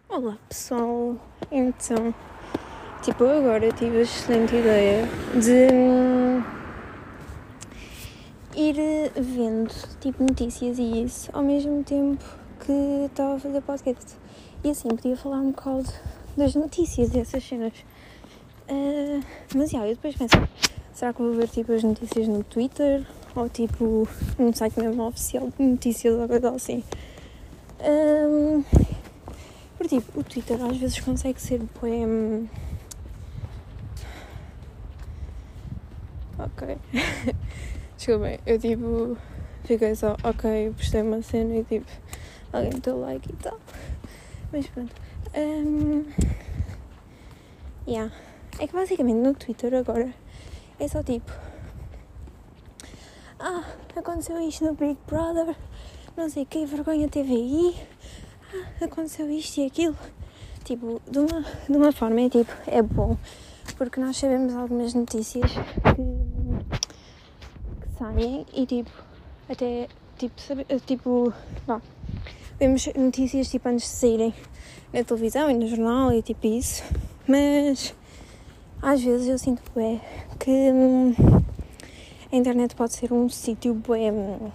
Olá pessoal, então, eu agora tive a excelente ideia de ir vendo, notícias e isso, ao mesmo tempo que estava a fazer podcast. E assim, podia falar um bocado das notícias e essas cenas. Mas eu depois penso, será que vou ver as notícias no Twitter? Ou num site mesmo oficial de notícias ou coisa assim? Porque o Twitter às vezes consegue ser bem... Ok. Desculpem, eu fiquei só, ok, postei uma cena e alguém deu like e tal. Mas pronto. É que basicamente no Twitter agora é só aconteceu isto no Big Brother, não sei o que, vergonha TVI, aconteceu isto e aquilo. De uma forma é bom, porque nós sabemos algumas notícias que saem e vemos notícias antes de saírem na televisão e no jornal e isso, mas às vezes eu sinto que a internet pode ser um sítio eu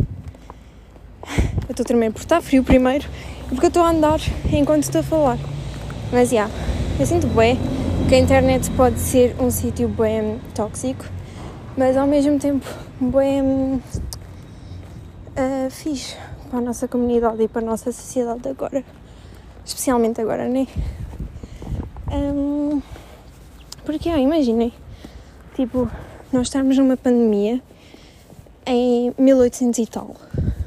estou a tremer porque está frio primeiro e porque eu estou a andar enquanto estou a falar. Mas eu sinto que a internet pode ser um sítio tóxico, mas ao mesmo tempo fixe para a nossa comunidade e para a nossa sociedade agora. Especialmente agora, né? Porque imaginem, nós estarmos numa pandemia em 1800 e tal.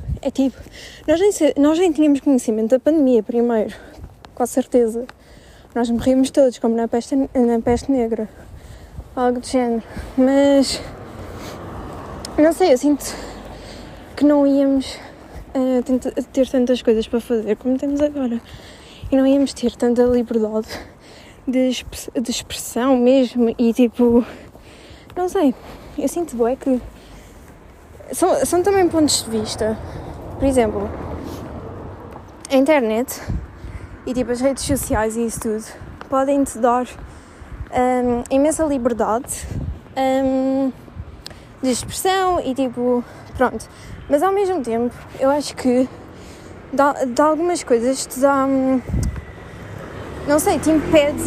Nós nem tínhamos conhecimento da pandemia primeiro, com certeza. Nós morríamos todos, como na peste negra, algo do género. Mas, não sei, eu sinto que não íamos ter tantas coisas para fazer como temos agora. E não íamos ter tanta liberdade de expressão mesmo e não sei, eu sinto que são também pontos de vista. Por exemplo, a internet e as redes sociais e isso tudo podem-te dar imensa liberdade de expressão e pronto. Mas ao mesmo tempo, eu acho que de algumas coisas te dá, não sei, te impede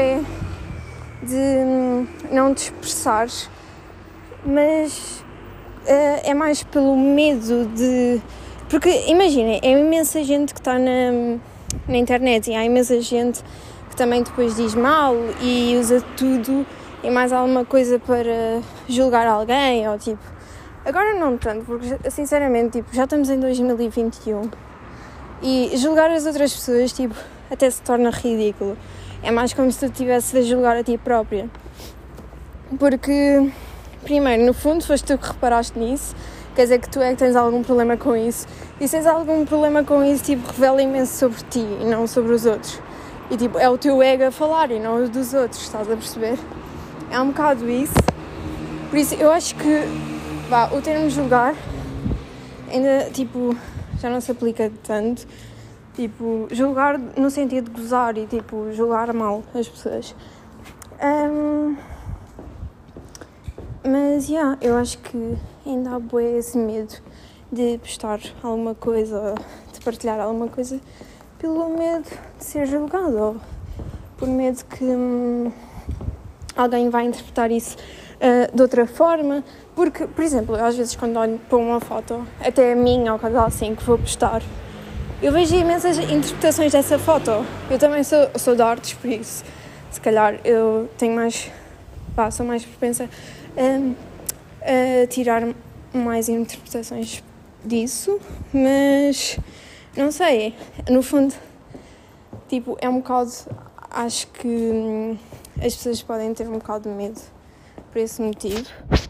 de não te expressares, mas é mais pelo medo de... Porque imaginem, é imensa gente que está na internet e há imensa gente que também depois diz mal e usa tudo e mais alguma coisa para julgar alguém ou Agora não tanto, porque sinceramente já estamos em 2021 e julgar as outras pessoas até se torna ridículo. É mais como se tu estivesse a julgar a ti própria. Porque, primeiro, no fundo, foste tu que reparaste nisso, quer dizer que tu é que tens algum problema com isso. E se tens algum problema com isso, revela imenso sobre ti e não sobre os outros. E, é o teu ego a falar e não o dos outros, estás a perceber? É um bocado isso. Por isso, eu acho que, o termo julgar ainda, já não se aplica tanto. Julgar no sentido de gozar e, julgar mal as pessoas. Mas, eu acho que ainda há esse medo de postar alguma coisa, de partilhar alguma coisa, pelo medo de ser julgado, ou por medo que alguém vai interpretar isso de outra forma. Porque, por exemplo, eu, às vezes quando olho para uma foto, até a minha ou coisa assim, que vou postar, eu vejo imensas interpretações dessa foto. Eu também sou de artes, por isso, se calhar eu tenho mais... sou mais propensa a tirar mais interpretações disso, mas não sei, no fundo, é um bocado... Acho que as pessoas podem ter um bocado de medo por esse motivo.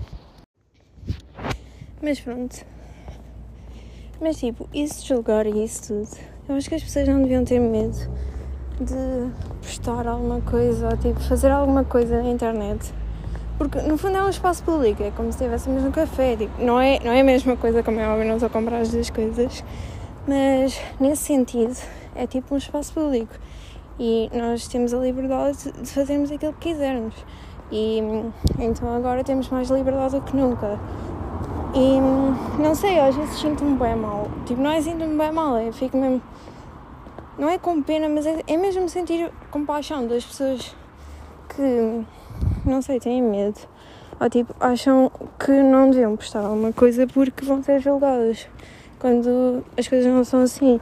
Mas pronto. Mas isso de julgar e isso tudo, eu acho que as pessoas não deviam ter medo de postar alguma coisa ou fazer alguma coisa na internet. Porque no fundo é um espaço público, é como se estivéssemos no café. Não é a mesma coisa, como é óbvio, não estou a comprar as duas coisas. Mas nesse sentido, é tipo um espaço público e nós temos a liberdade de fazermos aquilo que quisermos e então agora temos mais liberdade do que nunca e não sei, às vezes sinto-me bem mal, tipo, não é sinto-me bem mal, eu fico mesmo, não é com pena, mas é mesmo sentir compaixão das pessoas que, não sei, têm medo ou tipo, acham que não deviam postar alguma coisa porque vão ser julgadas quando as coisas não são assim.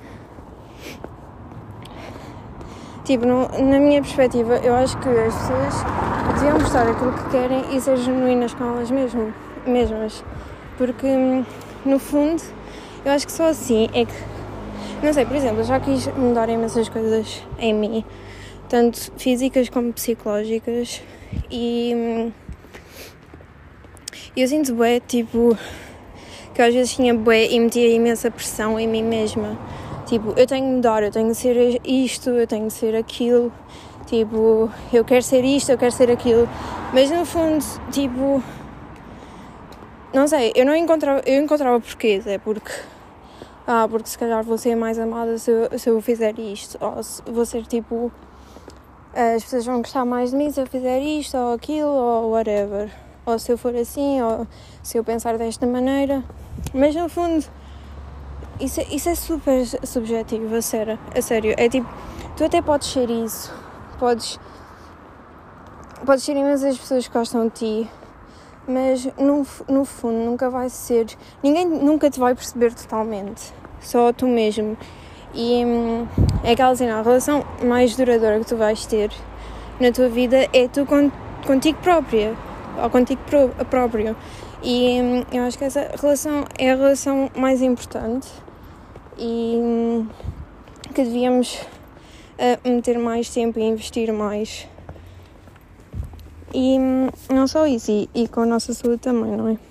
Tipo, na minha perspectiva, eu acho que as pessoas deviam postar aquilo que querem e ser genuínas com elas mesmas. Porque, no fundo, eu acho que só assim é que... Não sei, por exemplo, eu já quis mudar imensas coisas em mim, tanto físicas como psicológicas, e eu sinto bué, tipo, que às vezes tinha bué e metia imensa pressão em mim mesma. Tipo, eu tenho que mudar, eu tenho que ser isto, eu tenho que ser aquilo, tipo, eu quero ser isto, eu quero ser aquilo, mas no fundo, tipo, não sei, eu encontrava porquês, é porque se calhar vou ser mais amada se eu fizer isto, ou se vou ser tipo, as pessoas vão gostar mais de mim se eu fizer isto ou aquilo, ou whatever, ou se eu for assim, ou se eu pensar desta maneira, mas no fundo, isso é super subjetivo, a sério, é tipo, tu até podes ser isso, podes ser imensas pessoas que gostam de ti, mas no fundo nunca vai ser, ninguém nunca te vai perceber totalmente, só tu mesmo, e é aquela cena, a relação mais duradoura que tu vais ter na tua vida é tu contigo própria, ou contigo próprio, e eu acho que essa relação é a relação mais importante e que devíamos meter mais tempo e investir mais. E não só isso, e com a nossa saúde também, não é?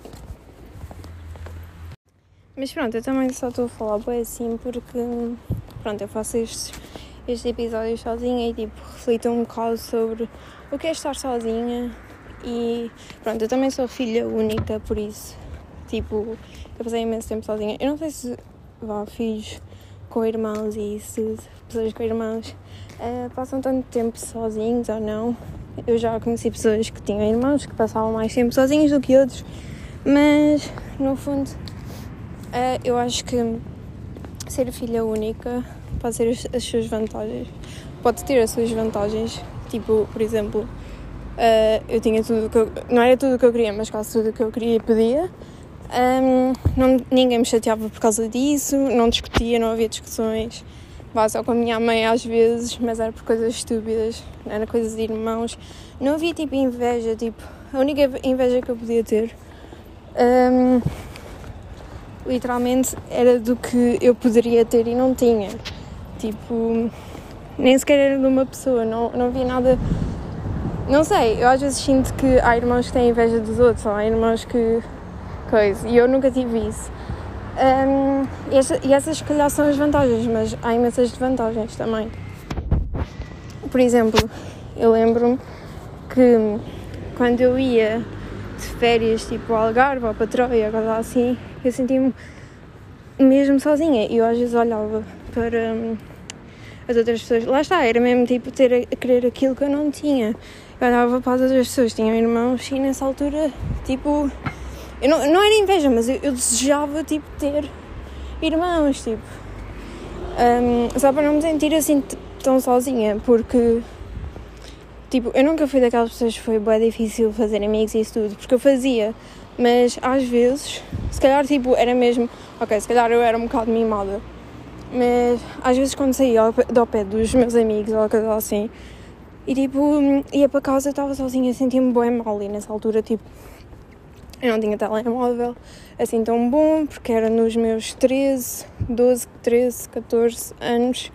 Mas pronto, eu também só estou a falar bem assim porque, pronto, eu faço estes episódios sozinha e tipo, reflito um bocado sobre o que é estar sozinha e pronto, eu também sou filha única, por isso, tipo, eu passei imenso tempo sozinha. Eu não sei se filhos com irmãos e isso, pessoas com irmãos passam tanto tempo sozinhos ou não. Eu já conheci pessoas que tinham irmãos que passavam mais tempo sozinhos do que outros, mas no fundo eu acho que ser filha única pode ter as suas vantagens, pode ter as suas vantagens, tipo, por exemplo, eu tinha tudo o que eu, não era tudo o que eu queria, mas quase tudo o que eu queria e podia. Ninguém me chateava por causa disso, não discutia, não havia discussões, só com a minha mãe às vezes, mas era por coisas estúpidas, era coisas de irmãos, não havia tipo inveja, tipo, a única inveja que eu podia ter literalmente era do que eu poderia ter e não tinha, tipo, nem sequer era de uma pessoa, não havia nada, não sei, eu às vezes sinto que há irmãos que têm inveja dos outros, ou há irmãos que e eu nunca tive isso. E essas se calhar são as vantagens, mas há imensas desvantagens também. Por exemplo, eu lembro-me que quando eu ia de férias tipo ao Algarve ou para Troia, coisa assim, eu sentia-me mesmo sozinha e eu às vezes olhava para as outras pessoas, lá está, era mesmo tipo ter a querer aquilo que eu não tinha. Eu olhava para as outras pessoas, tinham irmãos e nessa altura, tipo, eu não era inveja, mas eu desejava, tipo, ter irmãos, tipo, só para não me sentir assim tão sozinha, porque, tipo, eu nunca fui daquelas pessoas que foi bem difícil fazer amigos e isso tudo, porque eu fazia, mas às vezes, se calhar, tipo, era mesmo, ok, se calhar eu era um bocado mimada, mas às vezes quando saía ao pé dos meus amigos ou coisa assim, e tipo, ia para casa, eu estava sozinha, sentia-me bem mal, e nessa altura, tipo, eu não tinha telemóvel assim tão bom, porque era nos meus 13, 14 anos.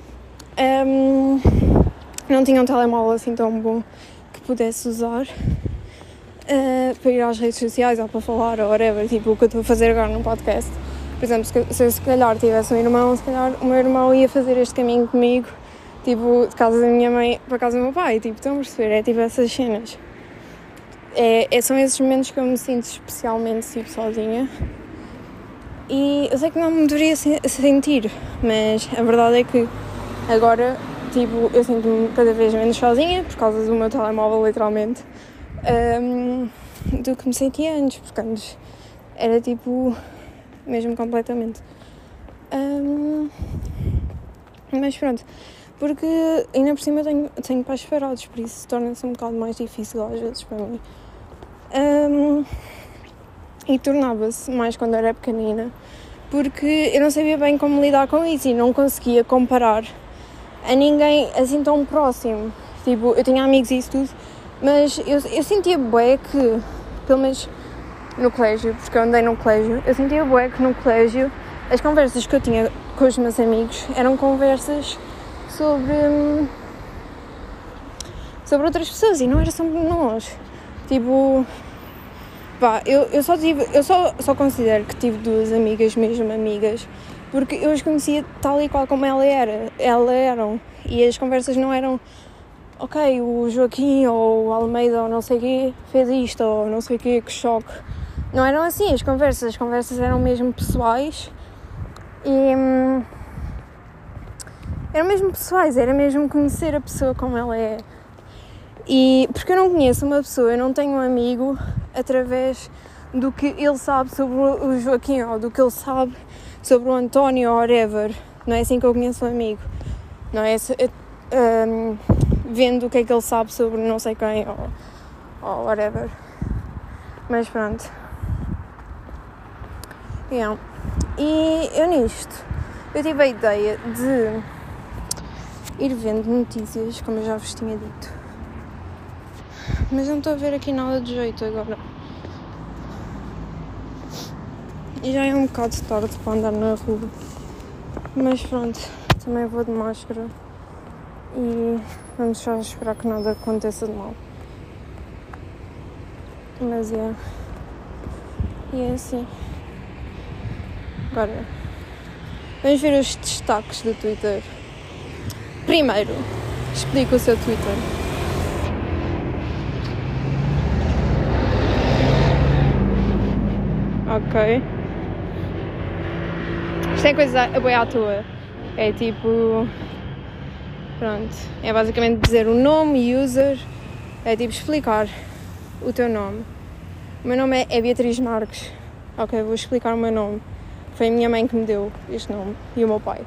Não tinha um telemóvel assim tão bom que pudesse usar para ir às redes sociais ou para falar ou whatever, tipo o que eu estou a fazer agora no podcast. Por exemplo, se eu se calhar tivesse um irmão, se calhar o meu irmão ia fazer este caminho comigo, tipo, de casa da minha mãe para casa do meu pai, tipo, estão a perceber? É tipo essas cenas. São esses momentos que eu me sinto especialmente tipo, sozinha. E eu sei que não me deveria sentir, mas a verdade é que agora, tipo, eu sinto-me cada vez menos sozinha, por causa do meu telemóvel, literalmente, do que me sentia antes, porque antes era, tipo, mesmo completamente. Mas pronto, porque ainda por cima eu tenho pais separados, por isso torna-se um bocado mais difícil às vezes para mim. E tornava-se mais quando era pequenina, porque eu não sabia bem como lidar com isso e não conseguia comparar a ninguém assim tão próximo. Tipo, eu tinha amigos e isso tudo, mas eu sentia bué que, pelo menos no colégio, porque eu andei no colégio, eu sentia bué que no colégio as conversas que eu tinha com os meus amigos eram conversas sobre outras pessoas e não era sobre nós. Tipo, pá, eu só considero que tive duas amigas, mesmo amigas, porque eu as conhecia tal e qual como elas eram, e as conversas não eram ok, o Joaquim ou o Almeida ou não sei o quê fez isto ou não sei o quê, que choque. Não eram assim as conversas eram mesmo pessoais e eram mesmo pessoais, era mesmo conhecer a pessoa como ela é. E porque eu não conheço uma pessoa, eu não tenho um amigo através do que ele sabe sobre o Joaquim ou do que ele sabe sobre o António ou whatever. Não é assim que eu conheço um amigo. Não é vendo o que é que ele sabe sobre não sei quem ou whatever. Mas pronto. Yeah. E eu nisto, eu tive a ideia de ir vendo notícias, como eu já vos tinha dito. Mas não estou a ver aqui nada de jeito agora. E já é um bocado tarde para andar na rua. Mas pronto, também vou de máscara. E vamos só esperar que nada aconteça de mal. Mas é. E é assim. Agora, vamos ver os destaques do Twitter. Primeiro, explica o seu Twitter. Ok. Isto é coisa bem à toa. É tipo... Pronto. É basicamente dizer o nome, user. É tipo explicar o teu nome. O meu nome é Beatriz Marques. Ok, vou explicar o meu nome. Foi a minha mãe que me deu este nome. E o meu pai.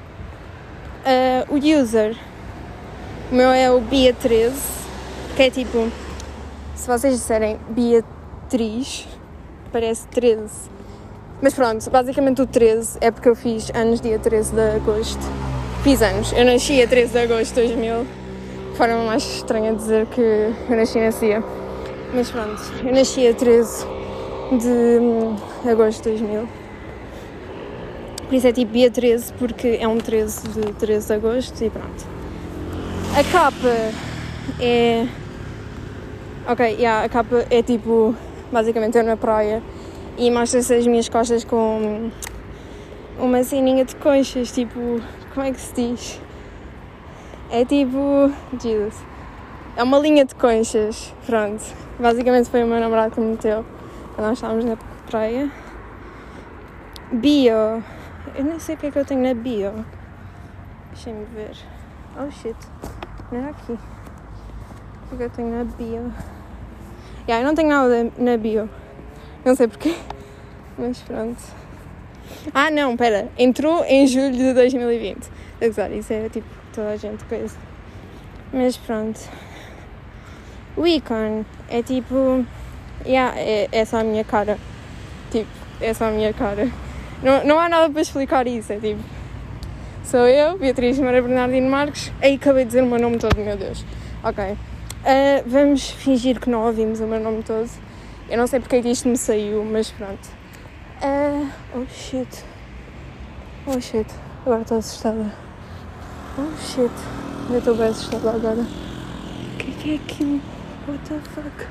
O user. O meu é o Bia13. Que é tipo... Se vocês disserem Beatriz... Parece 13. Mas pronto, basicamente o 13 é porque eu fiz anos dia 13 de agosto. Fiz anos. Eu nasci a 13 de agosto de 2000. Forma mais estranha dizer que eu nasci nesse dia. Mas pronto, eu nasci a 13 de agosto de 2000. Por isso é tipo dia 13, porque é um 13 de 13 de agosto e pronto. A capa é... Ok, a capa é tipo... Basicamente eu na praia e mostra-se as minhas costas com uma ceninha de conchas, tipo, como é que se diz? É tipo, Jesus, é uma linha de conchas, pronto. Basicamente foi o meu namorado que me meteu quando nós estávamos na praia. Bio, eu nem sei o que é que eu tenho na bio. Deixem-me ver. Oh shit, não era aqui. O que é que eu tenho na bio? Eu não tenho nada na bio. Não sei porquê. Mas pronto. Ah, não, pera. Entrou em julho de 2020. Isso é tipo toda a gente coisa. Mas pronto. O ícone é tipo... é só a minha cara. Tipo, é só a minha cara. Não há nada para explicar isso. É tipo... Sou eu, Beatriz Maria Bernardino Marques. Aí acabei de dizer o meu nome todo, meu Deus. Ok. Vamos fingir que não ouvimos o meu nome todo. Eu não sei porque é que isto me saiu, mas pronto. Oh shit. Agora estou assustada. Oh shit. Eu estou bem assustada agora. O que é aquilo? What the fuck?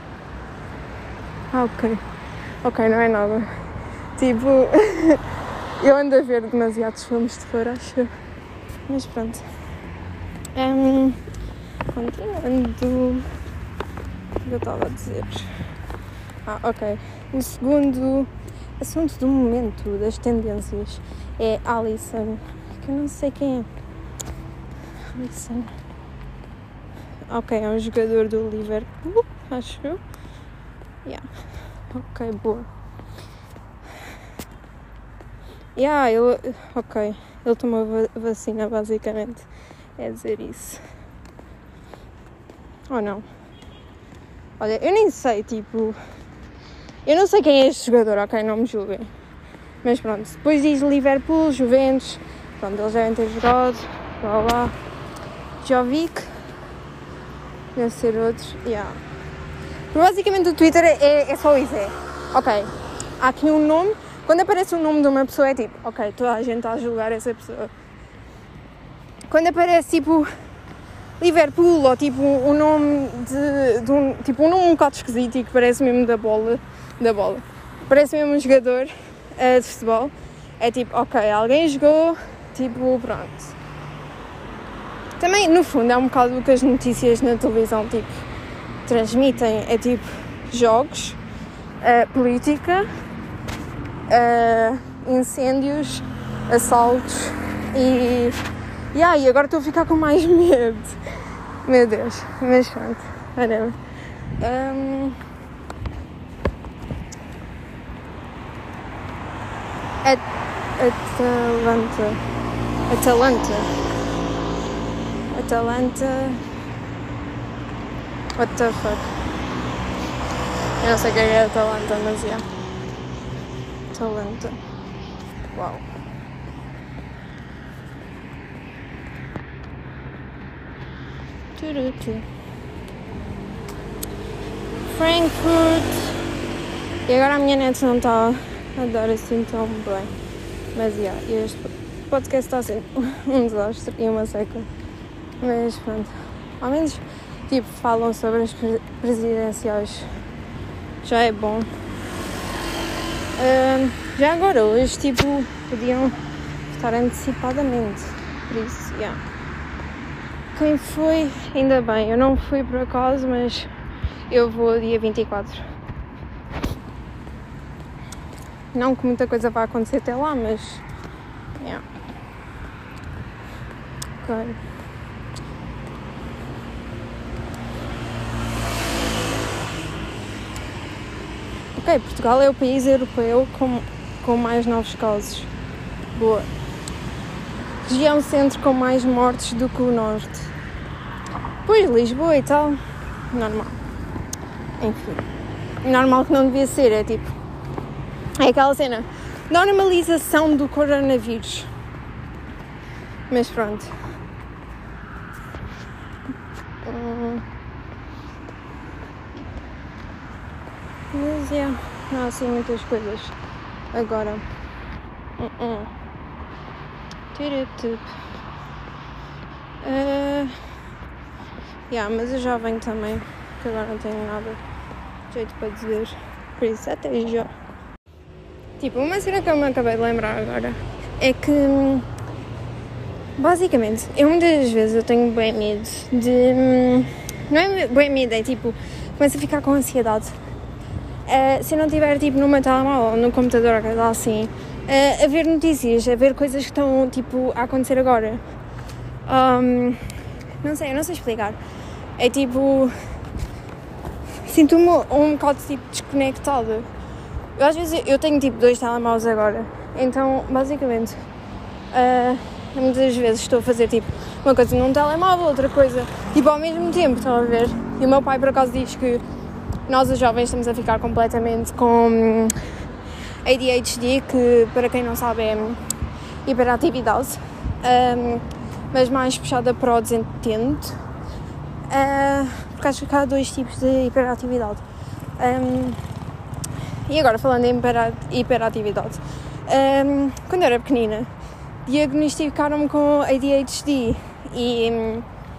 Ok, não é nada. Tipo... eu ando a ver demasiados filmes de terror, acho. Mas pronto. Continuando, o que eu estava a dizer? Ok. O segundo assunto do momento, das tendências, é Alisson, que eu não sei quem é. Alisson. Ok, é um jogador do Liverpool, acho eu. Yeah. Ok, boa. Ele tomou vacina, basicamente. É dizer isso. Ou não? Olha, eu nem sei, tipo... Eu não sei quem é este jogador, ok? Não me julguem. Mas pronto, depois diz Liverpool, Juventus... Pronto, eles devem ter jogado... Blá blá... Jovic... Deve ser outro... Yeah. Basicamente o Twitter é só isso, ok, há aqui um nome... Quando aparece o nome de uma pessoa é tipo... Ok, toda a gente está a julgar essa pessoa. Quando aparece tipo... Liverpool ou tipo o nome de um... Tipo um nome um bocado esquisito e que parece mesmo da bola... Parece mesmo um jogador de futebol. É tipo, ok, alguém jogou... Tipo, pronto. Também, no fundo, é um bocado o que as notícias na televisão, tipo... Transmitem. É tipo... Jogos... política... incêndios, assaltos e agora estou a ficar com mais medo. Meu Deus, mas pronto, whatever. Atalanta. What the fuck? Eu não sei o que é Atalanta, mas yeah. Atalanta. Uau. Frankfurt. E agora a minha net não está a dar assim tão bem. Mas este podcast está a ser um desastre e uma seca. Mas pronto. Ao menos tipo falam sobre as presidenciais. Já é bom. Já agora, hoje, tipo, podiam votar antecipadamente, por isso, Quem foi, ainda bem, eu não fui por acaso, mas eu vou dia 24. Não que muita coisa vá acontecer até lá, mas, Ok. Ok, Portugal é o país europeu com mais novos casos. Boa. Região centro com mais mortes do que o norte. Pois, Lisboa e tal. Normal. Enfim. Normal que não devia ser, é tipo... É aquela cena. Normalização do coronavírus. Mas pronto. Mas não há assim muitas coisas agora. Mas eu já venho também, que agora não tenho nada de jeito para dizer. Por isso até já. Tipo, uma cena que eu me acabei de lembrar agora é que basicamente eu muitas vezes eu tenho bem medo de... Não é bem medo, é tipo, começo a ficar com ansiedade. Se eu não estiver tipo no meu telemóvel ou no computador, ou assim, a ver notícias, a ver coisas que estão tipo a acontecer agora. Eu não sei explicar. É tipo, sinto-me um bocado tipo desconectada. Eu às vezes eu tenho tipo 2 telemóveis agora, então basicamente muitas vezes estou a fazer tipo uma coisa num telemóvel, outra coisa tipo ao mesmo tempo, estão a ver? E o meu pai por acaso diz que nós os jovens estamos a ficar completamente com ADHD, que para quem não sabe é hiperatividade, mas mais puxada para o desentende, porque acho que há 2 tipos de hiperatividade. E agora falando em hiperatividade, quando eu era pequenina diagnosticaram-me com ADHD e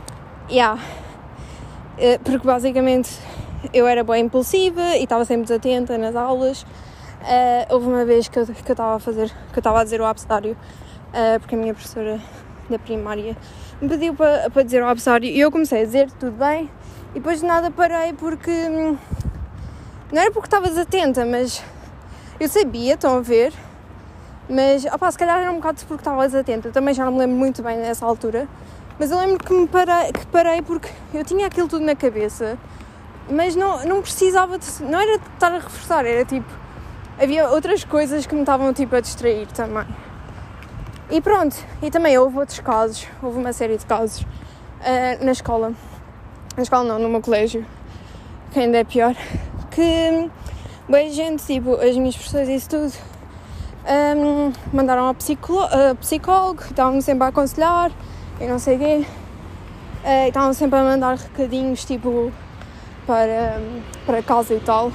porque basicamente eu era bem impulsiva e estava sempre desatenta nas aulas. Houve uma vez que eu estava a dizer o abecedário, porque a minha professora da primária me pediu para dizer o abecedário e eu comecei a dizer tudo bem e depois de nada parei porque não era porque estava desatenta, mas Eu sabia, estão a ver, mas se calhar era um bocado porque estava desatenta. Eu também já não me lembro muito bem nessa altura, mas eu lembro que parei porque eu tinha aquilo tudo na cabeça, mas não precisava não era de estar a reforçar, era tipo, havia outras coisas que me estavam tipo a distrair também. E pronto, e também houve outros casos, houve uma série de casos na escola não, no meu colégio, que ainda é pior, que bem gente, tipo, as minhas professoras e isso tudo, mandaram ao psicólogo, estavam-me sempre a aconselhar e não sei o quê, e estavam sempre a mandar recadinhos tipo para casa e tal.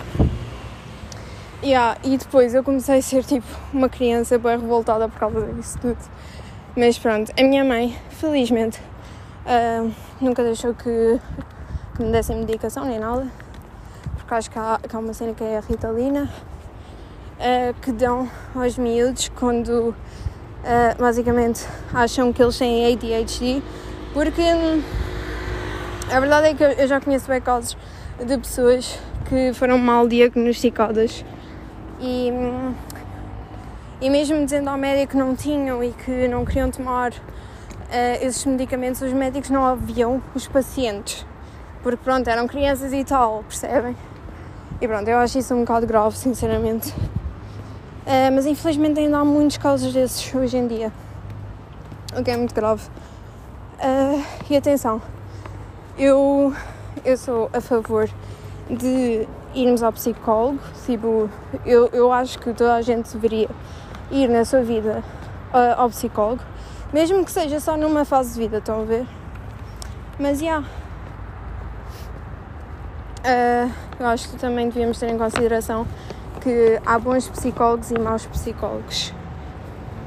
E depois eu comecei a ser tipo uma criança bem revoltada por causa disso tudo. Mas pronto, a minha mãe, felizmente, nunca deixou que me dessem medicação nem nada, porque acho que há uma cena que é a Ritalina, que dão aos miúdos quando basicamente acham que eles têm ADHD, porque a verdade é que eu já conheço bem casos de pessoas que foram mal diagnosticadas e mesmo dizendo ao médico que não tinham e que não queriam tomar esses medicamentos, os médicos não ouviam os pacientes, porque pronto, eram crianças e tal, percebem? E pronto, eu acho isso um bocado grave, sinceramente. Mas infelizmente ainda há muitos casos desses hoje em dia, o que é muito grave. E atenção, eu sou a favor de irmos ao psicólogo, tipo, eu acho que toda a gente deveria ir na sua vida ao psicólogo, mesmo que seja só numa fase de vida, estão a ver? Mas eu acho que também devíamos ter em consideração que há bons psicólogos e maus psicólogos.